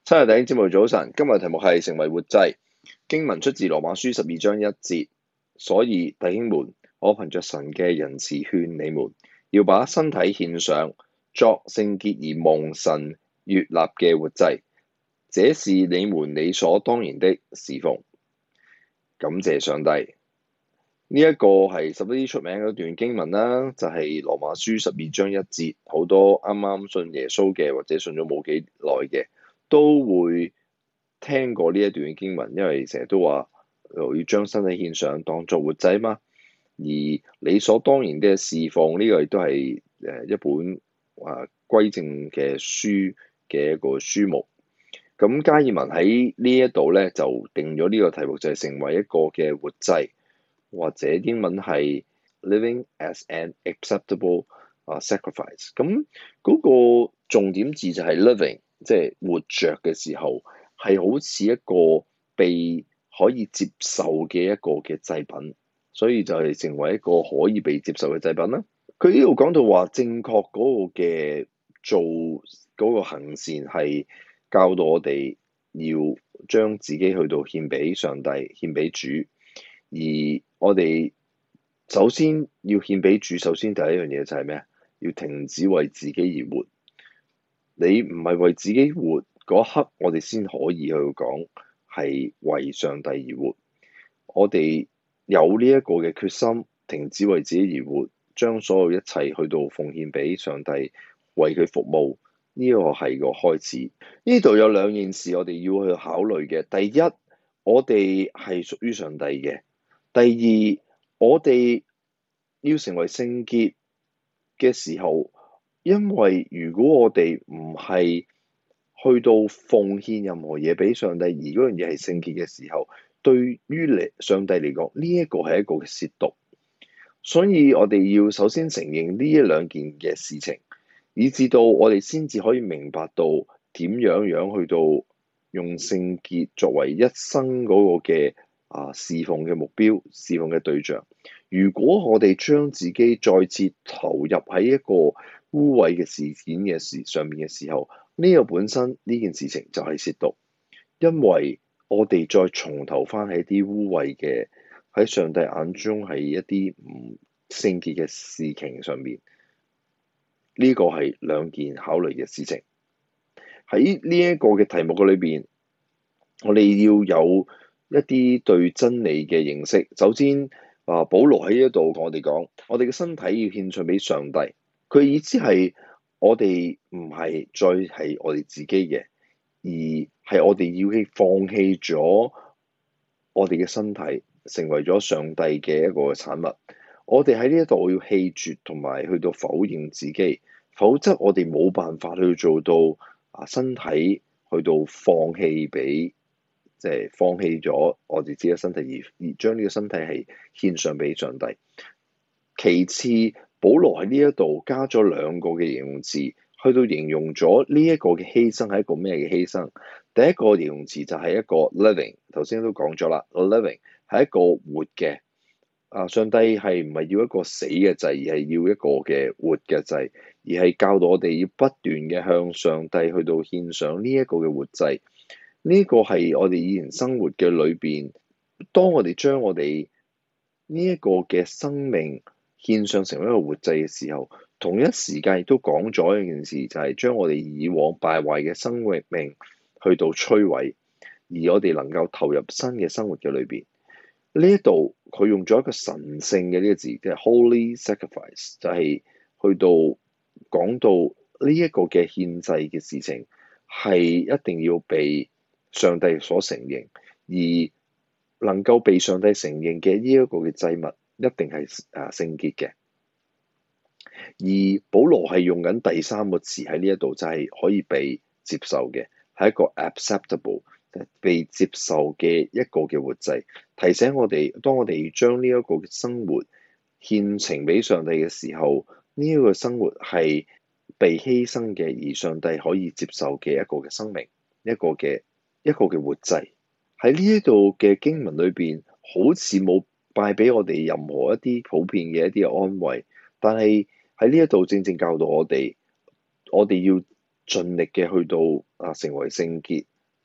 親愛的弟兄姊妹早晨，今日題目係成為活祭。經文出自羅馬書12章1節，所以弟兄們，我憑着神嘅仁慈勸你們，要把身體獻上，作聖潔而蒙神悅納嘅活祭，這是你們理所當然的事奉。感謝上帝。呢一個係十分出名嘅一段經文啦，就係羅馬書12章1節，好多啱啱信耶穌嘅或者信咗冇幾耐嘅，都會聽過呢一段經文，因為成日都話要將身體獻上當作活祭嘛。而理所當然嘅事奉呢個亦都係一本歸正嘅書嘅一個書目。咁加爾文喺呢一度咧就定咗呢個題目，就係成為一個嘅活祭，或者英文係 living as an acceptable sacrifice。咁嗰個重點字就係 living，即係活着嘅時候係好似一個被可以接受嘅一個嘅祭品，所以就係成為一個可以被接受嘅祭品啦。佢呢度講到話正確嗰個嘅做嗰個行善係教導我哋要將自己去到獻俾上帝、獻俾主，而我哋首先要獻俾主，首先第一樣嘢就係咩啊？要停止為自己而活。你唔係為自己活嗰刻，我哋先可以去講係為上帝而活。我哋有呢一個嘅決心，停止為自己而活，將所有一切去到奉獻俾上帝，為佢服務。呢個係個開始。呢度有兩件事我哋要去考慮嘅。第一，我哋係屬於上帝嘅；第二，我哋要成為聖潔嘅時候，因為如果我哋唔係去到奉獻任何嘢俾上帝，而嗰樣嘢係聖潔嘅時候，對於上帝嚟講，呢一個係一個褻瀆。所以我哋要首先承認呢一兩件嘅事情，以至到我哋先至可以明白到點樣去到用聖潔作為一生嗰個嘅侍奉嘅目標、侍奉嘅對象。如果我哋將自己再次投入喺一個污穢嘅事件上面嘅時候，呢個本身呢件事情就係褻瀆，因為我哋再從頭翻喺啲污穢嘅喺上帝眼中係一啲唔聖潔嘅事情上面。呢個係兩件考慮嘅事情。喺呢一個嘅題目嘅裏邊，我哋要有一啲對真理嘅認識。首先，保羅喺呢一度同我哋講，我哋嘅身體要獻上俾上帝。佢意思係我哋唔係再係我哋自己嘅，而係我哋要放棄咗我哋嘅身體，成為咗上帝嘅一個產物。我哋喺呢一度要棄絕同埋去到否認自己，否則我哋冇辦法去做到身體去到放棄俾，即係放棄咗我哋自己嘅身體，而將呢個身體係獻上俾上帝。其次，保羅喺呢一度加咗兩個嘅形容詞，去到形容咗呢一個嘅犧牲係一個咩嘅犧牲。第一個形容詞就係一個 living， 頭先都講咗啦，living 係一個活嘅。上帝係唔係要一個死嘅祭，而係要一個嘅活嘅祭，而係教導我哋要不斷嘅向上帝去到獻上呢一個嘅活祭。呢個係我哋以前生活嘅裏邊，當我哋將我哋呢一個嘅生命獻上成為一個活祭嘅時候，同一時間亦都講咗一件事，就係將我哋以往敗壞嘅生命去到摧毀，而我哋能夠投入新嘅生活嘅裏邊。呢一度佢用咗一個神聖嘅呢個字，即係 holy sacrifice，就係去到講到呢一個嘅獻祭嘅事情係一定要被上帝所承認，而能夠被上帝承認嘅呢一個嘅祭物一定係聖潔嘅。而保羅係用緊第三個詞喺呢一度，就係可以被接受嘅，係一個 acceptable，被接受嘅一個嘅活祭，提醒我哋，當我哋將呢一個嘅生活獻呈俾上帝嘅時候，呢一個生活係被犧牲嘅，而上帝可以接受嘅一個嘅生命，一個嘅活祭。喺呢一度嘅經文裏邊，好似冇帶俾我哋任何一啲普遍嘅一啲嘅安慰，但係喺呢一度正正教導我哋要盡力嘅去到成為聖潔。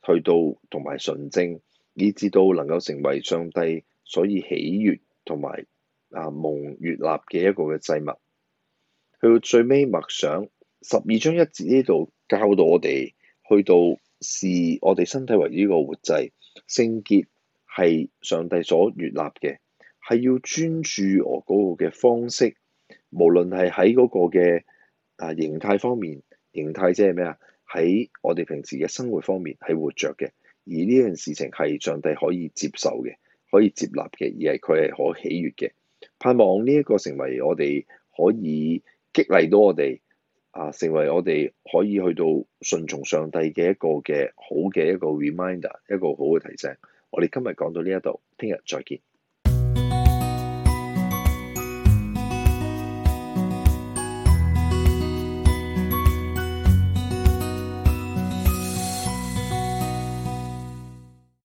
去到同埋純正，以至到能夠成為上帝所以喜悅同埋蒙悅納嘅一個嘅祭物。去到最尾默想12章1節呢度教導我哋，去到視我哋身體為呢個活祭，聖潔係上帝所悅納嘅，係要專注我嗰個嘅方式，無論係喺嗰個嘅形態方面，形態即係咩啊？喺我哋平時嘅生活方面係活着嘅，而呢樣事情係上帝可以接受嘅，可以接納嘅，而係佢係可喜悅嘅。盼望呢一個成為我哋可以激勵到我哋成為我哋可以去到順從上帝嘅一個嘅好嘅一個 reminder，一個好嘅提醒。我哋今日講到呢一度，聽日再見。